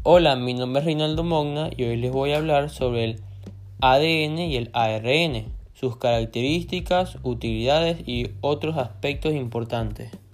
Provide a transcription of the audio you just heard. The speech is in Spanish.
Hola, mi nombre es Reinaldo Mogna y hoy les voy a hablar sobre el ADN y el ARN, sus características, utilidades y otros aspectos importantes.